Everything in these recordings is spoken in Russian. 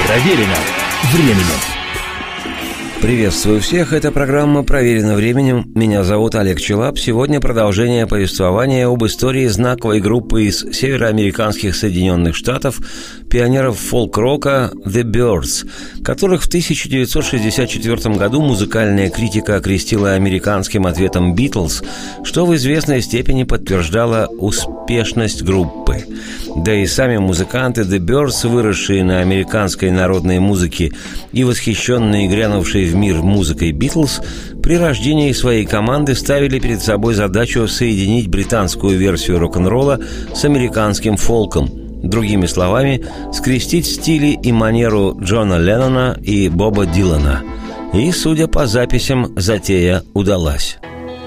Проверено временем. Приветствую всех, это программа «Проверено временем». Меня зовут Олег Челап. Сегодня продолжение повествования об истории знаковой группы из североамериканских Соединенных Штатов, пионеров фолк-рока The Byrds, которых в 1964 году музыкальная критика окрестила американским ответом «Битлз», что в известной степени подтверждало успешность группы. Да и сами музыканты The Byrds, выросшие на американской народной музыке и восхищенные грянувшей в мир музыкой «Битлз», при рождении своей команды ставили перед собой задачу соединить британскую версию рок-н-ролла с американским фолком. Другими словами, скрестить стили и манеру Джона Леннона и Боба Дилана. И, судя по записям, затея удалась.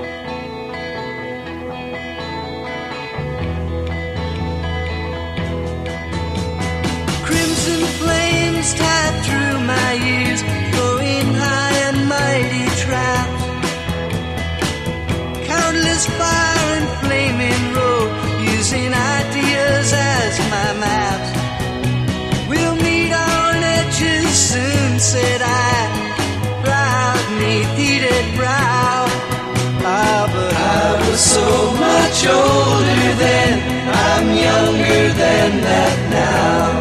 Fire and flaming road, using ideas as my maps. We'll meet on edges soon, said I, proud neath heated brow. Ah, but I was so much older then, I'm younger than that now.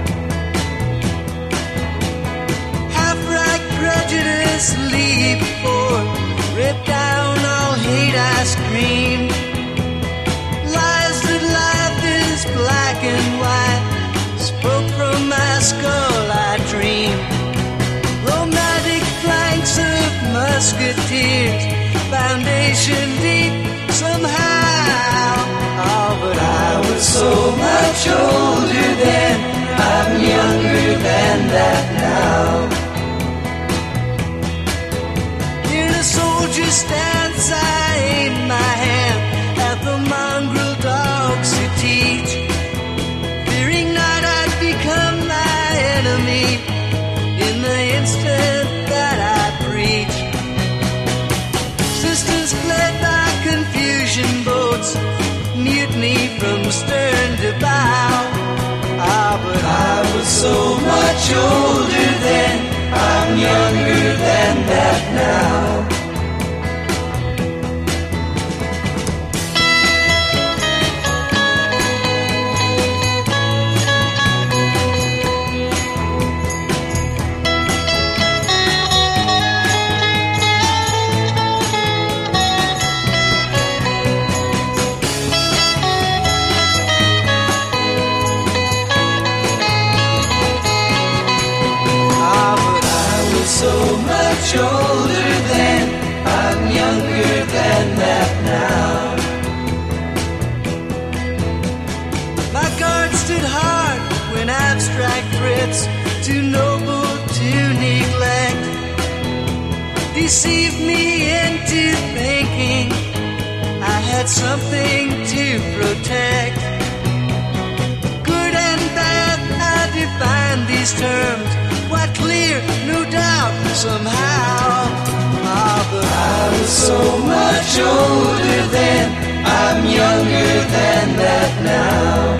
Half-right prejudice, leap forward, rip down all hate I scream. Lies that life is black and white, spoke from my skull I dream. Romantic flanks of musketeers, foundation deep somehow. Oh, but I was so much older then, I'm younger than that now. Soldier stance, I aim my hand at the mongrel dogs who teach, fearing not I'd become my enemy in the instant that I preach. Sisters fled by confusion boats, mutiny from stern to bow. Ah, but I was so much older then, I'm younger than that now. So much older then, I'm younger than that now. My guard stood hard when abstract threats, too noble to neglect, deceived me into thinking I had something to protect. Good and bad, I define these terms, quite clear, no doubt, somehow. Ah, but I was so much older then, I'm younger than that now.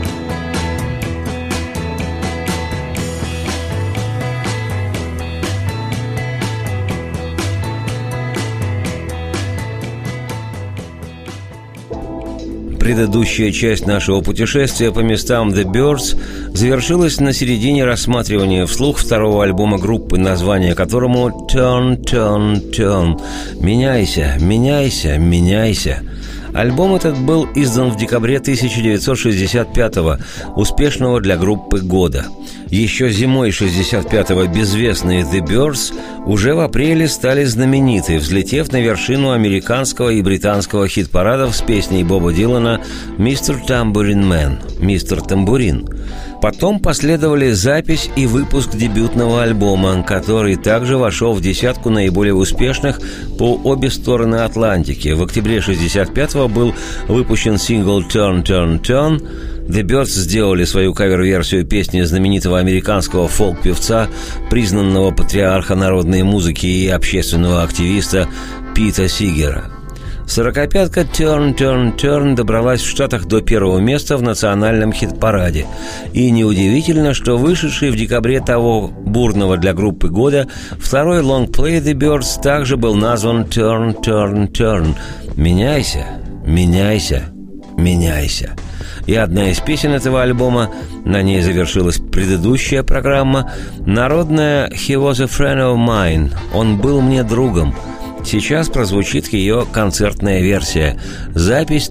Предыдущая часть нашего путешествия по местам The Byrds завершилась на середине рассматривания вслух второго альбома группы, название которому «Turn, Turn, Turn» – «Меняйся, меняйся, меняйся». Альбом этот был издан в декабре 1965-го, успешного для группы года. Еще зимой 65-го безвестные The Byrds уже в апреле стали знамениты, взлетев на вершину американского и британского хит-парадов с песней Боба Дилана «Mr. Tambourine Man» – «Мистер Тамбурин». Потом последовали запись и выпуск дебютного альбома, который также вошел в десятку наиболее успешных по обе стороны Атлантики. В октябре 65-го был выпущен сингл «Turn, Turn, Turn». The Byrds сделали свою кавер-версию песни знаменитого американского фолк-певца, признанного патриарха народной музыки и общественного активиста Пита Сигера. Сорокопятка «Turn, Turn, Turn» добралась в Штатах до первого места в национальном хит-параде. И неудивительно, что вышедший в декабре того бурного для группы года второй лонгплей «The Byrds» также был назван «Turn, Turn, Turn». «Меняйся, меняйся, меняйся». И одна из песен этого альбома, на ней завершилась предыдущая программа, народная «He was a friend of mine», «Он был мне другом». Сейчас прозвучит ее концертная версия, запись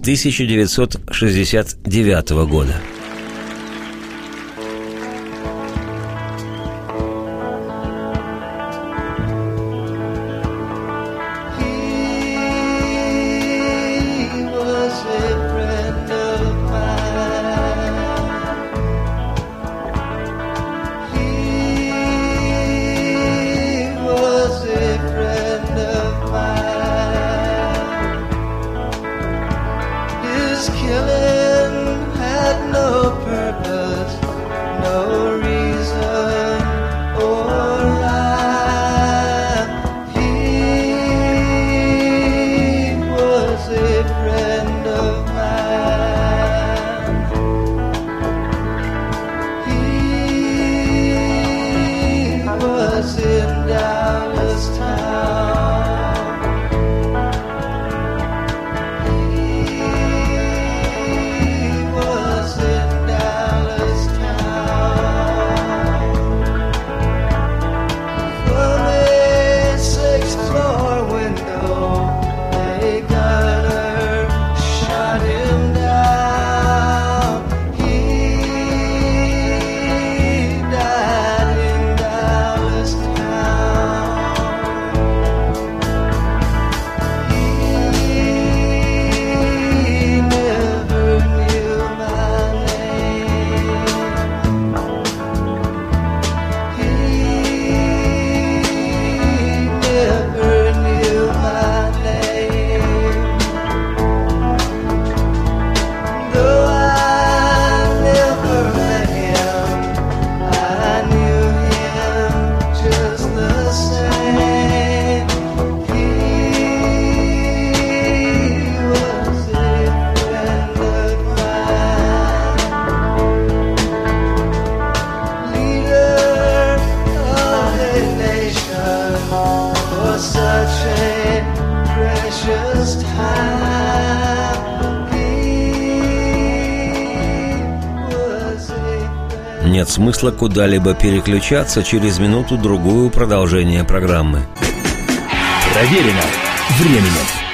1969 года. Нет смысла куда-либо переключаться, через минуту-другую продолжение программы. Проверено временем.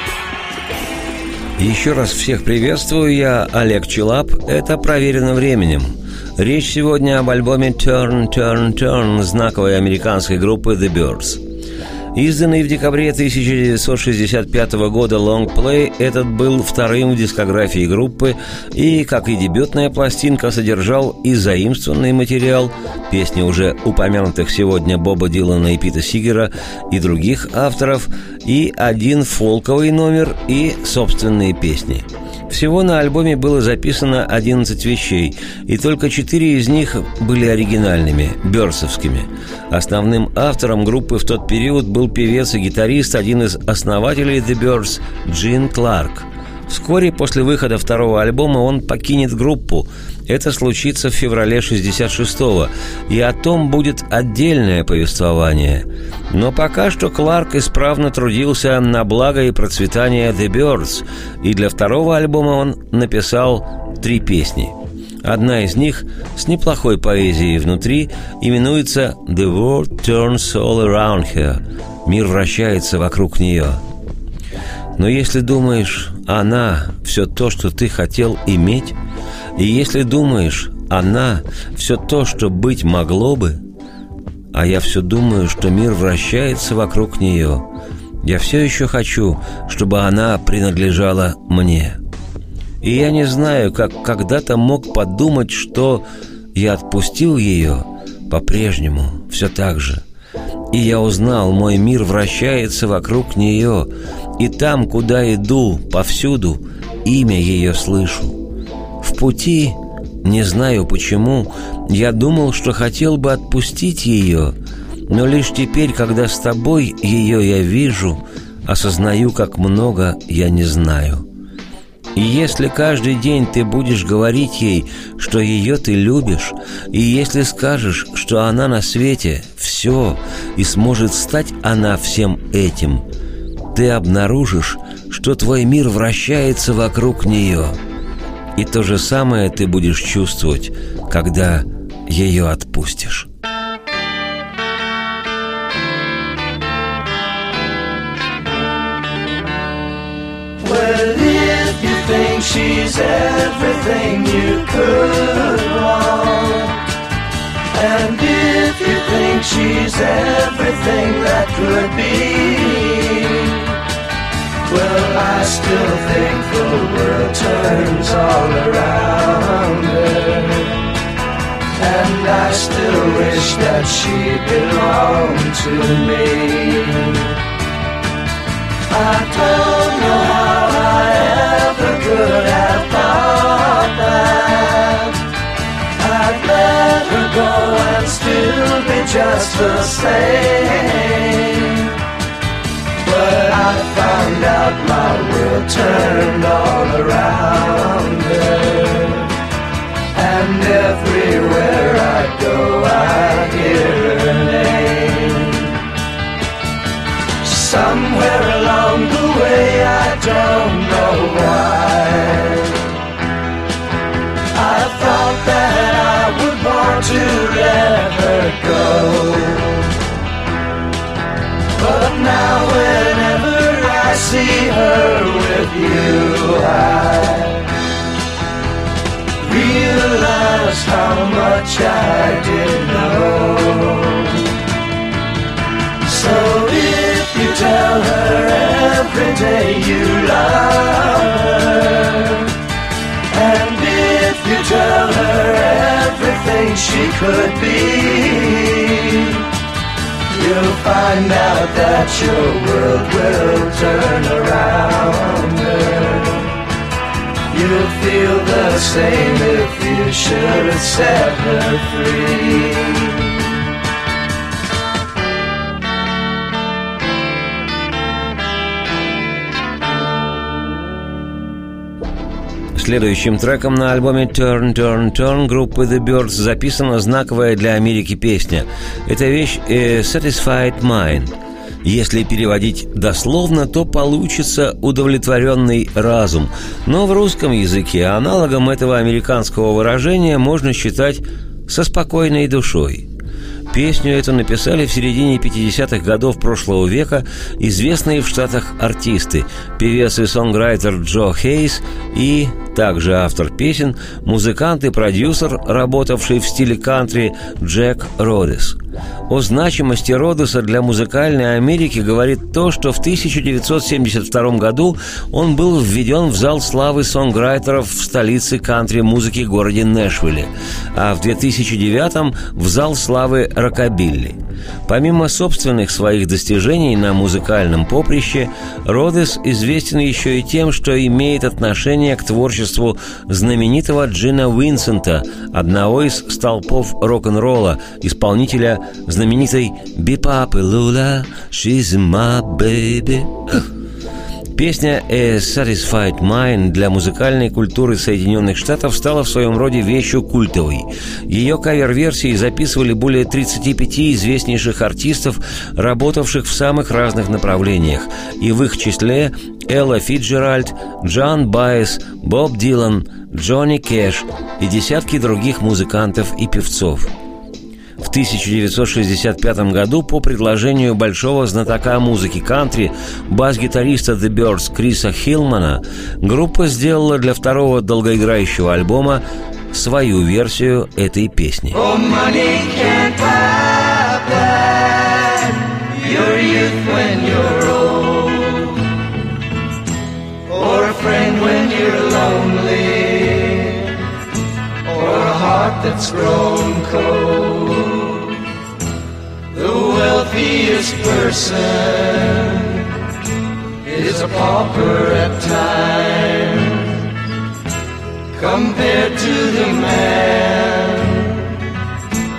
Еще раз всех приветствую, я Олег Челап, это «Проверено временем». Речь сегодня об альбоме «Turn, Turn, Turn» знаковой американской группы «The Byrds». Изданный в декабре 1965 года лонгплей, этот был вторым в дискографии группы и, как и дебютная пластинка, содержал и заимствованный материал, песни уже упомянутых сегодня Боба Дилана и Пита Сигера и других авторов, и один фолковый номер и собственные песни. Всего на альбоме было записано 11 вещей, и только 4 из них были оригинальными, бёрдсовскими. Основным автором группы в тот период был певец и гитарист, один из основателей The Byrds, Джин Кларк. Вскоре после выхода второго альбома он покинет группу. Это случится в феврале 1966-го, и о том будет отдельное повествование. Но пока что Кларк исправно трудился на благо и процветание The Byrds, и для второго альбома он написал 3 песни. Одна из них с неплохой поэзией внутри именуется «The world turns all around her» – «Мир вращается вокруг нее». Но если думаешь, она – все то, что ты хотел иметь, и если думаешь, она – все то, что быть могло бы, а я все думаю, что мир вращается вокруг нее, я все еще хочу, чтобы она принадлежала мне. И я не знаю, как когда-то мог подумать, что я отпустил ее по-прежнему, все так же. И я узнал, мой мир вращается вокруг нее, и там, куда иду, повсюду, имя ее слышу. В пути, не знаю почему, я думал, что хотел бы отпустить ее, но лишь теперь, когда с тобой ее я вижу, осознаю, как много я не знаю. И если каждый день ты будешь говорить ей, что ее ты любишь, и если скажешь, что она на свете все, и сможет стать она всем этим, ты обнаружишь, что твой мир вращается вокруг нее. И то же самое ты будешь чувствовать, когда ее отпустишь. Think she's everything you could want, and if you think she's everything that could be, well, I still think the world turns all around her, and I still wish that she belonged to me. I don't know how I ever could have thought that I'd let her go and still be just the same. But I found out my world turned all around her, and everywhere I go I hear her name. Somewhere along the way, I don't know why, I thought that I would want to let her go. But now whenever I see her with you, I realize how much I didn't know. So if you tell her every day you love her, and if you tell her everything she could be, you'll find out that your world will turn around her. You'll feel the same if you should have set her free. Следующим треком на альбоме Turn, Turn, Turn группы The Byrds записана знаковая для Америки песня. Это вещь Satisfied Mind. Если переводить дословно, то получится «удовлетворенный разум». Но в русском языке аналогом этого американского выражения можно считать «со спокойной душой». Песню эту написали в середине 50-х годов прошлого века известные в Штатах артисты, певец и сонграйтер Джо Хейс и, также автор песен, музыкант и продюсер, работавший в стиле кантри, Джек Родес. О значимости Родеса для музыкальной Америки говорит то, что в 1972 году он был введен в зал славы сонграйтеров в столице кантри-музыки городе Нэшвилле, а в 2009 в зал славы рокобилли. Помимо собственных своих достижений на музыкальном поприще, Родес известен еще и тем, что имеет отношение к творчеству знаменитого Джина Уинсента, одного из столпов рок-н-ролла, исполнителя знаменитой «Be-Pop Lula, she's my baby». Песня «A Satisfied Mind» для музыкальной культуры Соединенных Штатов стала в своем роде вещью культовой. Ее кавер-версии записывали более 35 известнейших артистов, работавших в самых разных направлениях, и в их числе Элла Фицджеральд, Джон Байес, Боб Дилан, Джонни Кэш и десятки других музыкантов и певцов. В 1965 году по предложению большого знатока музыки кантри, бас-гитариста The Byrds Криса Хилмана, группа сделала для второго долгоиграющего альбома свою версию этой песни. Oh, money can't buy back your youth when you're old, or a friend when you're lonely, or a heart that's grown cold. The wealthiest person is a pauper at times, compared to the man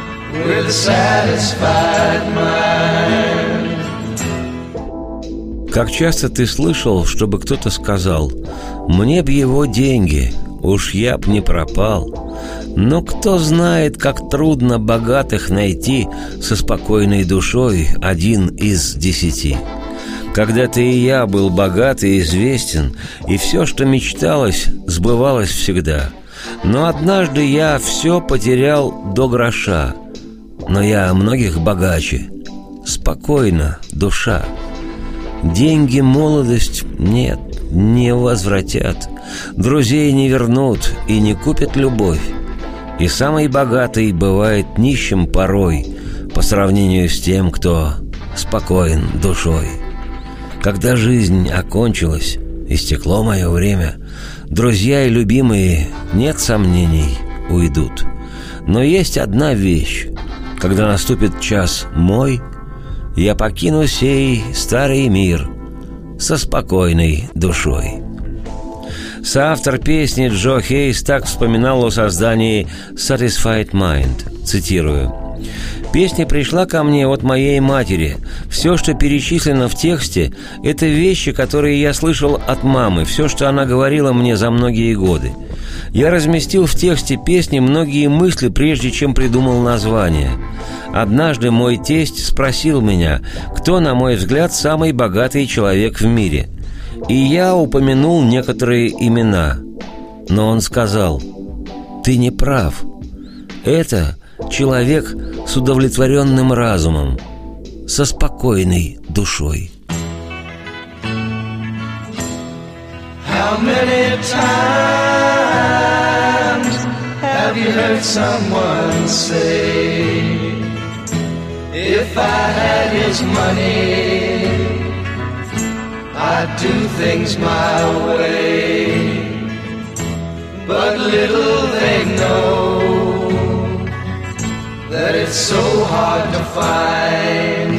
with a satisfied mind. Как часто ты слышал, чтобы кто-то сказал: «Мне б его деньги, уж я б не пропал». Но кто знает, как трудно богатых найти со спокойной душой 1 из 10. Когда-то и я был богат и известен, и все, что мечталось, сбывалось всегда. Но однажды я все потерял до гроша. Но я многих богаче. Спокойно, душа. Деньги, молодость нет, не возвратят. Друзей не вернут и не купят любовь. И самый богатый бывает нищим порой по сравнению с тем, кто спокоен душой. Когда жизнь окончилась, истекло мое время, друзья и любимые, нет сомнений, уйдут. Но есть одна вещь: когда наступит час мой, я покину сей старый мир со спокойной душой. Соавтор песни Джо Хейс так вспоминал о создании «Satisfied Mind», цитирую: «Песня пришла ко мне от моей матери. Все, что перечислено в тексте, это вещи, которые я слышал от мамы, все, что она говорила мне за многие годы. Я разместил в тексте песни многие мысли, прежде чем придумал название. Однажды мой тесть спросил меня, кто, на мой взгляд, самый богатый человек в мире. И я упомянул некоторые имена. Но он сказал: «Ты не прав. Это человек с удовлетворенным разумом, со спокойной душой». How many times have you heard someone say, if I had his money, I'd do things my way. But little they know that it's so hard to find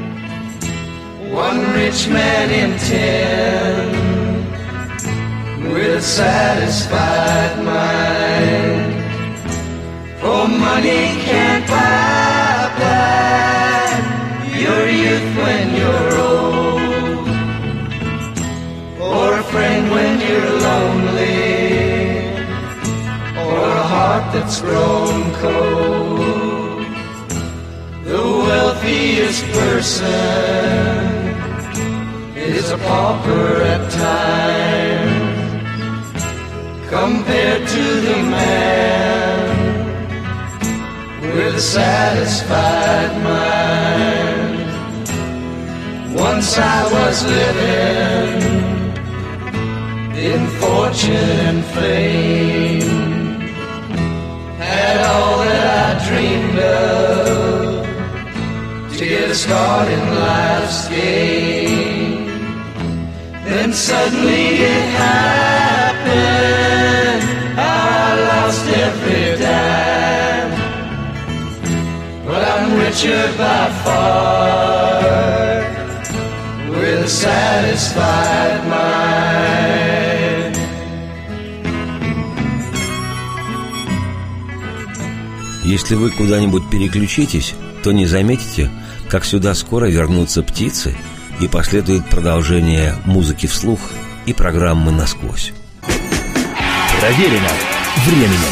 one rich man in 10 with a satisfied mind. For money can't buy back your youth when you're old, or a friend when you're lonely, or a heart that's grown cold. The wealthiest person is a pauper at times, compared to the man with a satisfied mind. Once I was living in fortune and fame, had all that I dreamed of to get a start in life's game. Then suddenly it happened, I lost every dime. But I'm richer by far, with a satisfied mind. Если вы куда-нибудь переключитесь, то не заметите, как сюда скоро вернутся птицы и последует продолжение музыки вслух и программы «Насквозь». Проверено временем.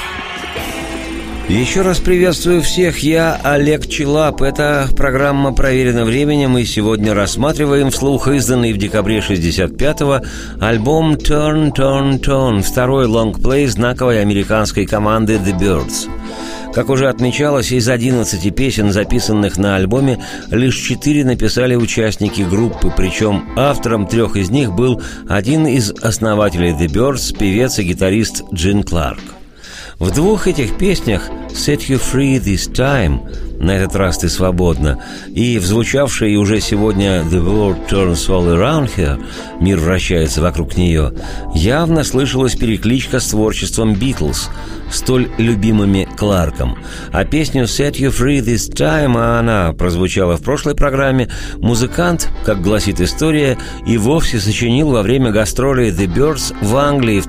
Еще раз приветствую всех, я Олег Челап. Это программа «Проверено временем», и сегодня рассматриваем вслух изданный в декабре 65-го альбом «Turn, Turn, Turn», второй лонгплей знаковой американской команды «The Byrds». Как уже отмечалось, из 11 песен, записанных на альбоме, лишь 4 написали участники группы, причем автором 3 из них был один из основателей The Byrds, певец и гитарист Джин Кларк. В 2 этих песнях «Set You Free This Time» «На этот раз ты свободна» и в звучавшей уже сегодня «The World Turns All Around Here» «Мир вращается вокруг нее» явно слышалась перекличка с творчеством «Битлз», столь любимыми Кларком. А песню «Set You Free This Time», а она прозвучала в прошлой программе, музыкант, как гласит история, и вовсе сочинил во время гастролей The Byrds в Англии в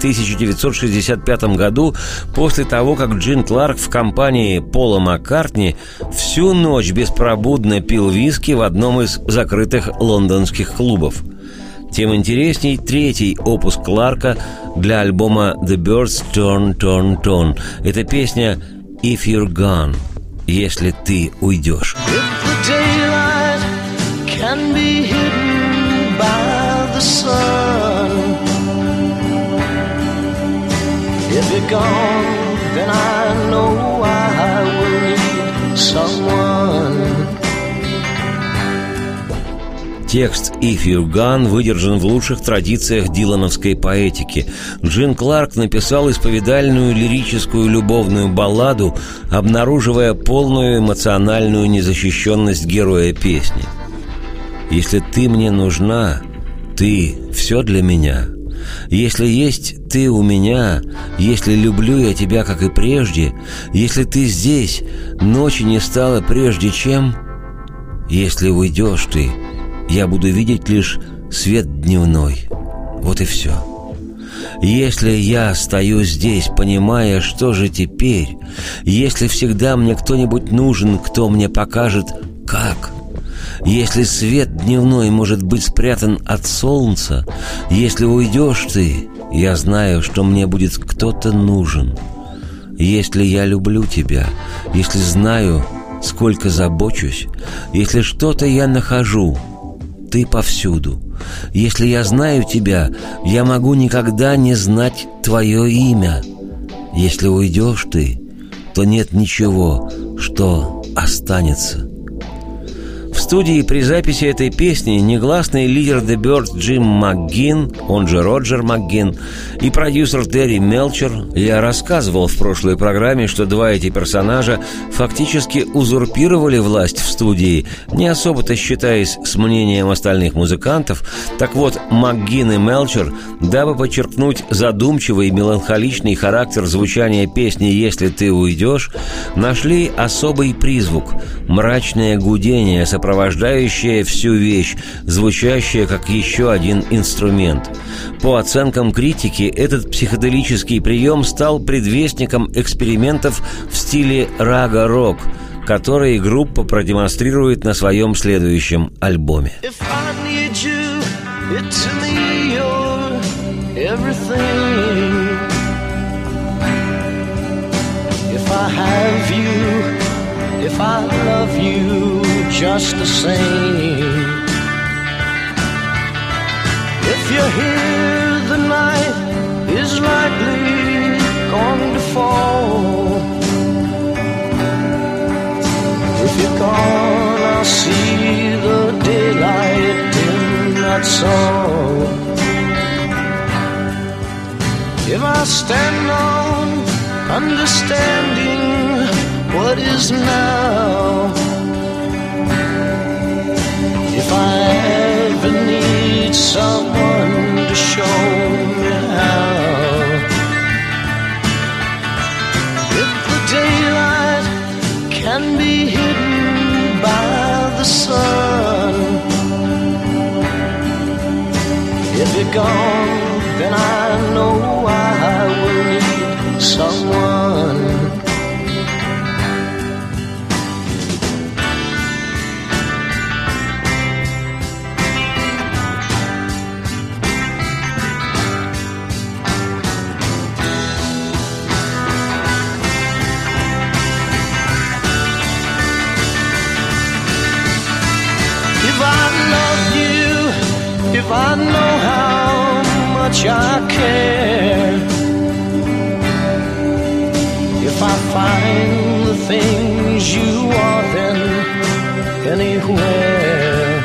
1965 году, после того, как Джин Кларк в компании Пола Маккартни всю ночь беспробудно пил виски в одном из закрытых лондонских клубов. Тем интересней третий опус Кларка для альбома «The Birds Turn, Turn, Turn». Это песня «If You're Gone», «Если ты уйдешь». Can be hidden by the sun. If you're gone, then I know I will need someone. Текст «If You're Gone» выдержан в лучших традициях дилановской поэтики. Джин Кларк написал исповедальную лирическую любовную балладу, обнаруживая полную эмоциональную незащищенность героя песни. «Если ты мне нужна, ты — все для меня. Если есть ты у меня, если люблю я тебя, как и прежде, если ты здесь, ночи не стало прежде, чем... Если уйдешь ты, я буду видеть лишь свет дневной. Вот и все. Если я стою здесь, понимая, что же теперь, если всегда мне кто-нибудь нужен, кто мне покажет, как... Если свет дневной может быть спрятан от солнца, если уйдешь ты, я знаю, что мне будет кто-то нужен. Если я люблю тебя, если знаю, сколько забочусь, если что-то я нахожу, ты повсюду. Если я знаю тебя, я могу никогда не знать твое имя. Если уйдешь ты, то нет ничего, что останется». В студии при записи этой песни негласный лидер The Birds Джим МакГinn, он же Роджер МакГinn, и продюсер Терри Мелчер. Я рассказывал в прошлой программе, что два эти персонажа фактически узурпировали власть в студии, не особо-то считаясь с мнением остальных музыкантов. Так вот, МакГinn и Мелчер, дабы подчеркнуть задумчивый и меланхоличный характер звучания песни «Если ты уйдешь», нашли особый призвук – мрачное гудение, сопровождающее всю вещь, звучащее как еще один инструмент. По оценкам критики, этот психоделический прием стал предвестником экспериментов в стиле рага-рок, которые группа продемонстрирует на своем следующем альбоме. If I love you just the same, if you're here, the night is likely going to fall. If you're gone, I'll see the daylight in that song. If I stand on understanding what is now, if I ever need someone to show me how, if the daylight can be hidden by the sun, if you're gone, then I know I will need someone. If I know how much I care, if I find the things you are, then anywhere.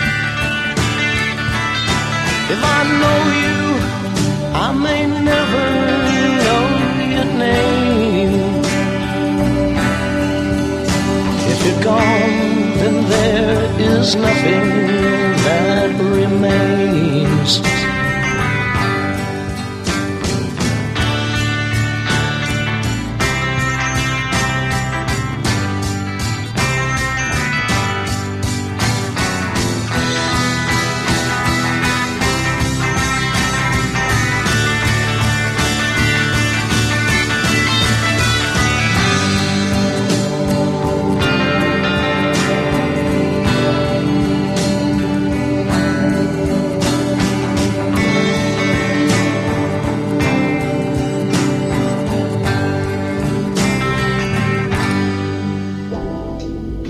If I know you, I may never know your name. If you're gone, then there is nothing that remains.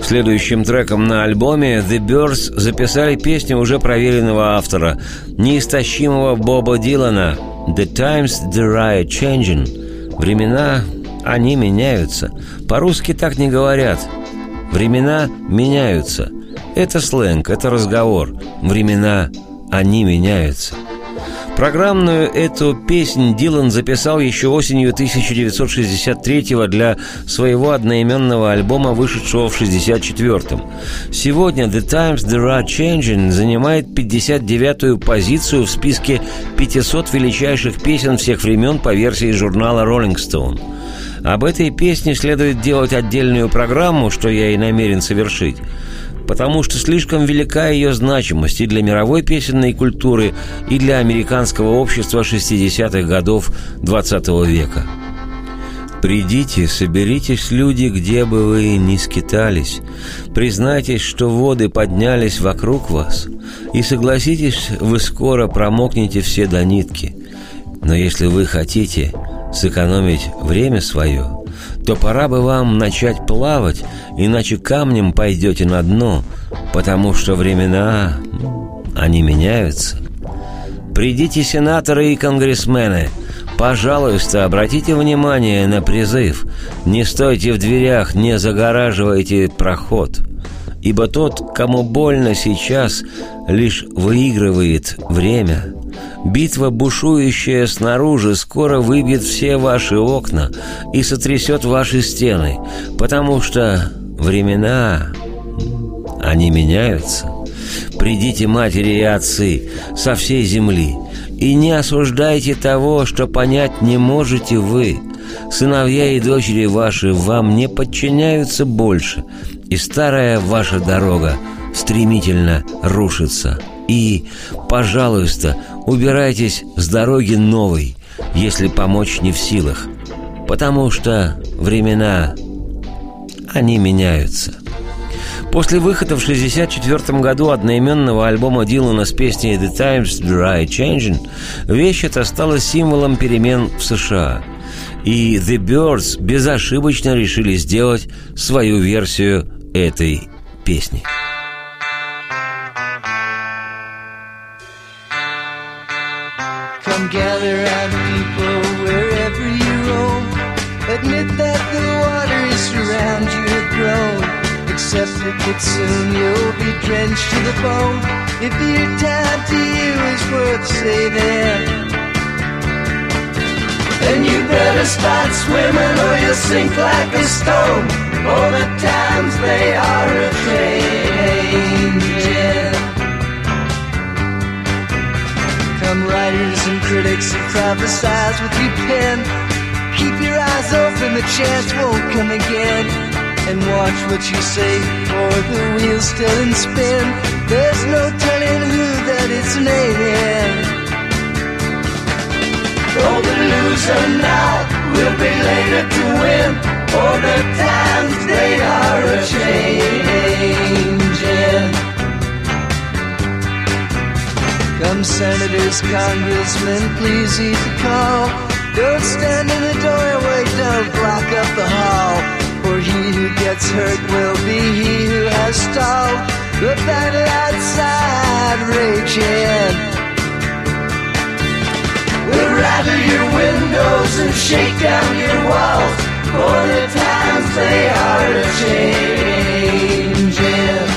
Следующим треком на альбоме The Byrds записали песню уже проверенного автора, неистощимого Боба Дилана «The times they're changing». Времена, они меняются. По-русски так не говорят. Времена меняются. Это сленг, это разговор. Времена, они меняются. Программную эту песнь Дилан записал еще осенью 1963-го для своего одноименного альбома, вышедшего в 1964-м. Сегодня «The Times They're Changing» занимает 59-ю позицию в списке 500 величайших песен всех времен по версии журнала Rolling Stone. Об этой песне следует делать отдельную программу, что я и намерен совершить, потому что слишком велика ее значимость и для мировой песенной культуры, и для американского общества 60-х годов XX века. «Придите, соберитесь, люди, где бы вы ни скитались, признайтесь, что воды поднялись вокруг вас, и согласитесь, вы скоро промокнете все до нитки. Но если вы хотите сэкономить время свое, то пора бы вам начать плавать, иначе камнем пойдете на дно, потому что времена, они меняются. Придите, сенаторы и конгрессмены, пожалуйста, обратите внимание на призыв. Не стойте в дверях, не загораживайте проход, ибо тот, кому больно сейчас, лишь выигрывает время. Битва, бушующая снаружи, скоро выбьет все ваши окна и сотрясет ваши стены, потому что времена, они меняются. Придите, матери и отцы, со всей земли, и не осуждайте того, что понять не можете вы. Сыновья и дочери ваши вам не подчиняются больше, и старая ваша дорога стремительно рушится. И, пожалуйста, убирайтесь с дороги новой, если помочь не в силах, потому что времена, они меняются. После выхода в 1964 году одноименного альбома Дилана с песней «The Times They're Changing» вещь эта стала символом перемен в США. И The Byrds безошибочно решили сделать свою версию этой песни. Come gather round, people, wherever you roam. Admit that the waters around you have grown. Accept it that soon you'll be drenched to the bone. If your time to you is worth saving, then you better start swimming or you'll sink like a stone. Oh, the times they are a-changing. Come writers and critics and prophesize with your pen. Keep your eyes open, the chance won't come again. And watch what you say, or the wheel's still in spin. There's no telling who that it's naming. Oh, the loser now will be later to win. Oh, the times they are a-changing. Come senators, congressmen, please heed the call. Don't stand in the doorway, don't block up the hall. For he who gets hurt will be he who has stalled the battle outside raging. We'll rattle your windows and shake down your walls, for the times they are a-changing.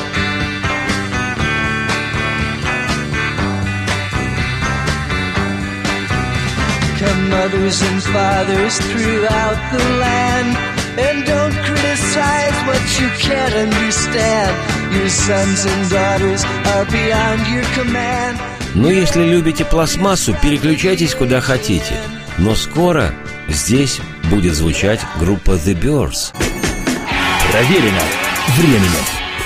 Come mothers and fathers throughout the land, and don't criticize what you can't understand. Your sons and daughters are beyond your command. Ну, если любите пластмассу, переключайтесь куда хотите. Но скоро здесь будет звучать группа The Byrds. Проверено временем.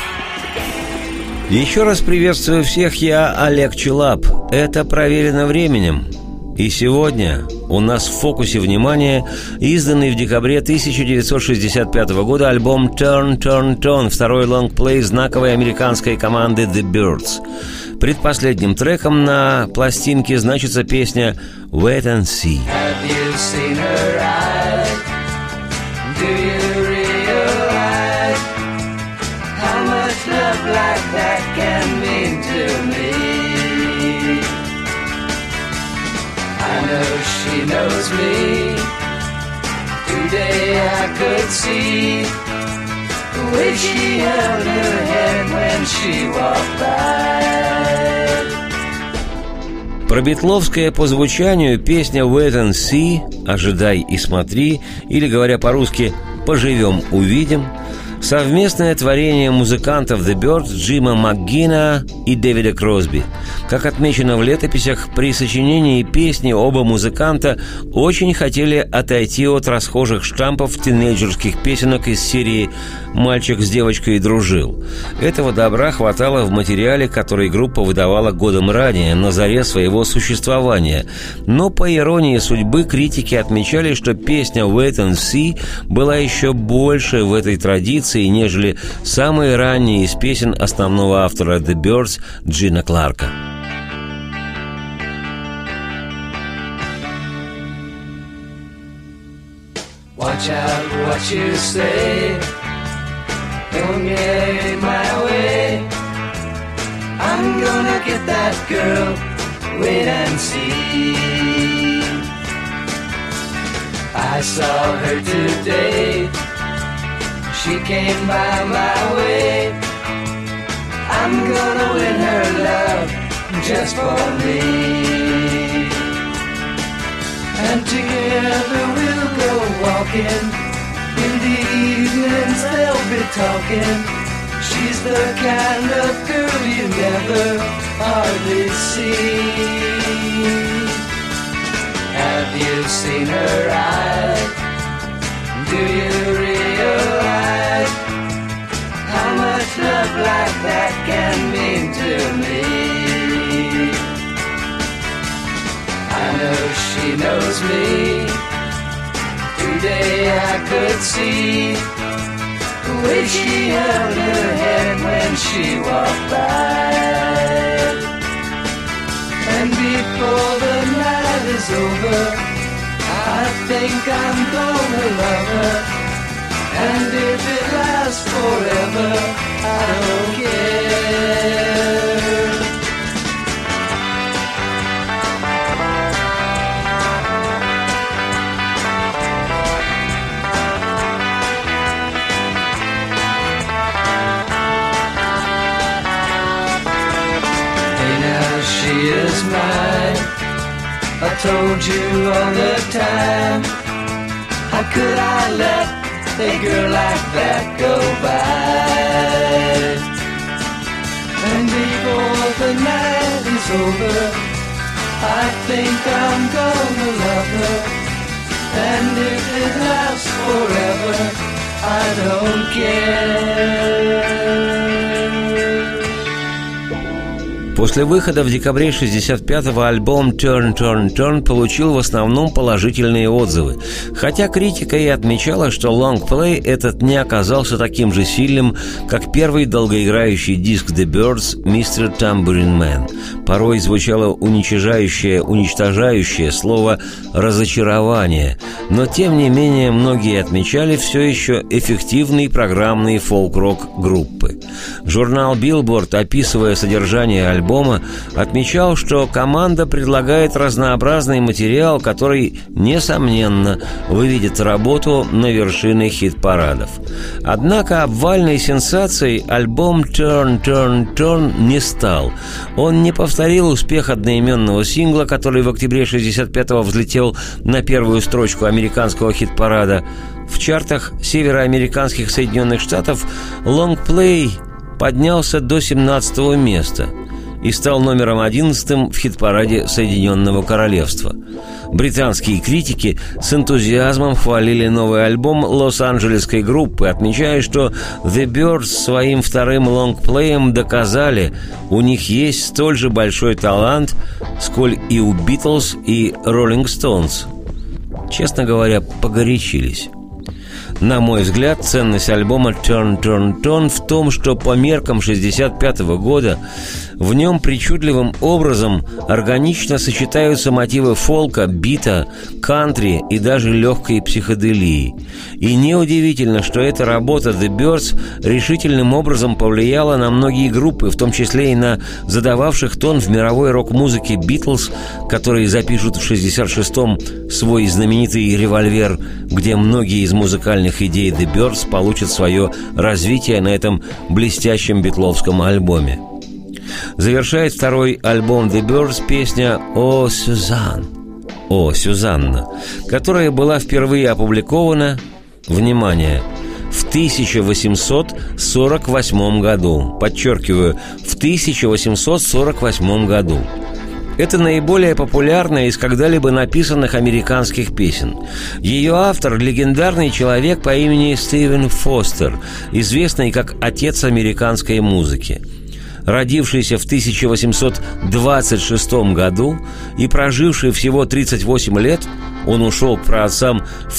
Еще раз приветствую всех, я Олег Челап. Это «Проверено временем». И сегодня у нас в фокусе внимания изданный в декабре 1965 года альбом «Turn, Turn, Turn», второй лонгплей знаковой американской команды The Byrds. Предпоследним треком на пластинке значится песня «Wait and See». Have you seen her eyes? Do you realize can mean to me. I know she knows me. Today I could see the way she held her head when she walked by. Пробитловская по звучанию песня «Wait and See» «Ожидай и смотри», или, говоря по-русски, «Поживем, увидим», совместное творение музыкантов The Byrds Джима МакГинна и Дэвида Кросби. Как отмечено в летописях, при сочинении песни оба музыканта очень хотели отойти от расхожих штампов тинейджерских песенок из серии «Мальчик с девочкой дружил». Этого добра хватало в материале, который группа выдавала годом ранее, на заре своего существования. Но, по иронии судьбы, критики отмечали, что песня «Wait and See» была еще больше в этой традиции, нежели самые ранние из песен основного автора The Byrds Джина Кларка. Watch out what you say. Don't get in my way. I'm gonna get that girl. Wait and see. I saw her today. She came by my way. I'm gonna win her love just for me. And together we'll go walking. In the evenings they'll be talking. She's the kind of girl you never hardly see. Have you seen her eyes? Do you realize how much love like that can mean to me? I know she knows me. Today I could see the way she held her head when she walked by. And before the night is over, I think I'm gonna love her. And if it lasts forever, I don't care. She is mine. I told you all the time. How could I let a girl like that go by? And before the night is over, I think I'm gonna love her. And if it lasts forever, I don't care. После выхода в декабре 65-го альбом «Turn, Turn, Turn» получил в основном положительные отзывы, хотя критика и отмечала, что лонгплей этот не оказался таким же сильным, как первый долгоиграющий диск The Byrds «Mr. Tambourine Man». Порой звучало уничтожающее слово «разочарование», но тем не менее многие отмечали все еще эффективный программный фолк-рок группы. Журнал Billboard, описывая содержание альбома, отмечал, что команда предлагает разнообразный материал, который, несомненно, выведет работу на вершины хит-парадов. Однако обвальной сенсацией альбом «Turn, Turn, Turn» не стал. Он не повторил успех одноименного сингла, который в октябре 65-го взлетел на первую строчку американского хит-парада. В чартах североамериканских Соединенных Штатов лонгплей поднялся до 17-го места и стал номером 11 в хит-параде Соединенного Королевства. Британские критики с энтузиазмом хвалили новый альбом лос-анджелесской группы, отмечая, что The Byrds своим вторым лонгплеем доказали, у них есть столь же большой талант, сколь и у Beatles и Rolling Stones. Честно говоря, погорячились. На мой взгляд, ценность альбома «Turn, Turn, Turn» в том, что по меркам 1965 года в нем причудливым образом органично сочетаются мотивы фолка, бита, кантри и даже легкой психоделии. И неудивительно, что эта работа The Byrds решительным образом повлияла на многие группы, в том числе и на задававших тон в мировой рок-музыке Beatles, которые запишут в 1966-м свой знаменитый «Револьвер», где многие из музыкальных идей The Byrds получат свое развитие на этом блестящем битловском альбоме. Завершает второй альбом The Byrds песня «О, Сюзан», «О, Сюзанна», которая была впервые опубликована, внимание, в 1848 году. Подчеркиваю, в 1848 году. Это наиболее популярная из когда-либо написанных американских песен. Ее автор – легендарный человек по имени Стивен Фостер, известный как отец американской музыки. Родившийся в 1826 году и проживший всего 38 лет, он ушел к праотцам в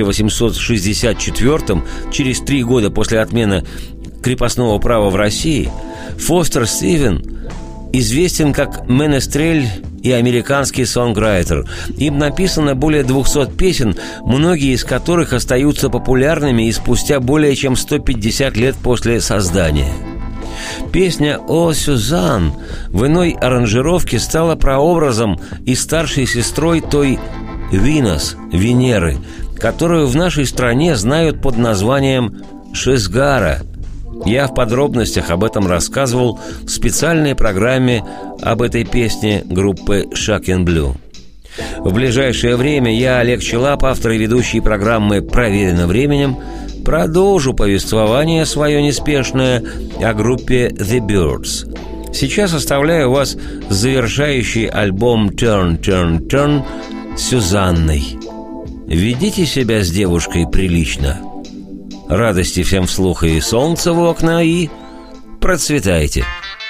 1864, через 3 года после отмены крепостного права в России. Фостер Стивен известен как менестрель и американский сонграйтер. Им написано более 200 песен, многие из которых остаются популярными и спустя более чем 150 лет после создания. Песня «О, Сюзан» в иной аранжировке стала прообразом и старшей сестрой той Винос, Венеры, которую в нашей стране знают под названием Шизгара. Я в подробностях об этом рассказывал в специальной программе об этой песне группы Shocking Blue. В ближайшее время я, Олег Челап, автор и ведущий программы «Проверено временем», продолжу повествование свое неспешное о группе The Byrds. Сейчас оставляю вас с завершающий альбом «Turn, Turn, Turn» Сюзанной. Ведите себя с девушкой прилично. Радости всем вслух и солнца в окна, и процветайте.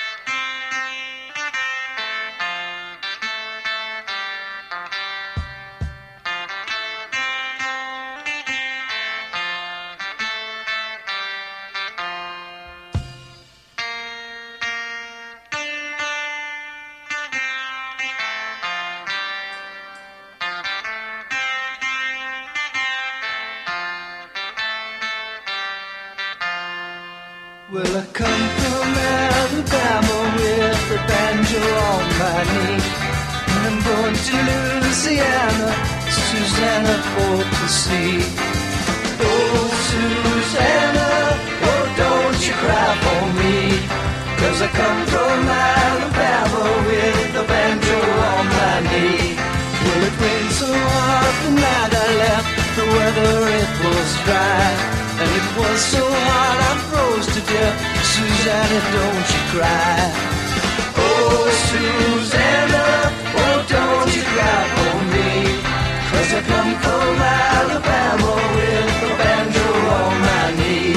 Well, I come from Alabama with the banjo on my knee, and I'm going to Louisiana, Susanna, for to see. Oh, Susanna, oh, don't you cry for me, 'cause I come from Alabama with the banjo on my knee. Well, it rained so hard the night I left, the weather it was dry, and it was so hot I froze to death. Susanna, don't you cry. Oh, Susanna, oh, don't you cry for me, 'cause I come from Alabama with the banjo on my knee.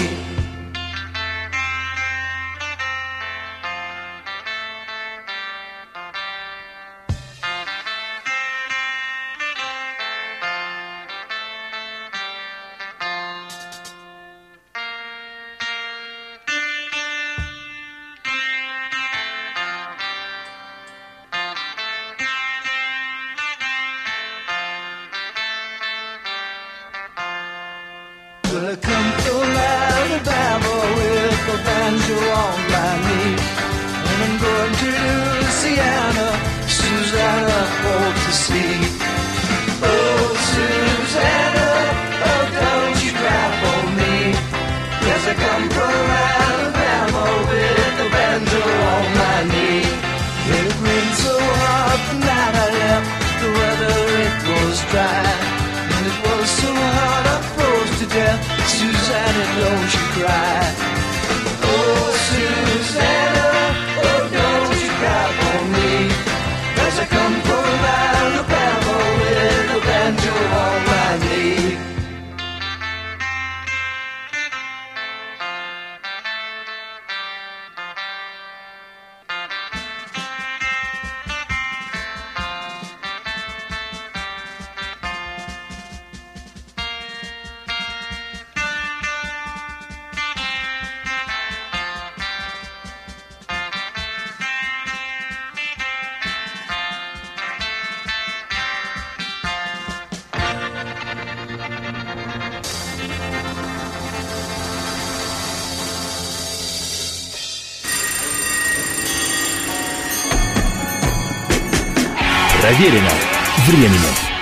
Well, I come from Alabama with the banjo on my knee, and I'm going to Louisiana, Susanna, for to see. Oh, Susanna, oh, don't you cry for me, 'cause I come from Alabama with the banjo on my knee. It rained so hard the night I left, the weather it was dry, and it was so hot I froze to death. Susanna, don't you cry. Oh, Susanna, oh, don't you cry for me, 'cause I come from Alabama with a banjo on my knee. Проверено временем.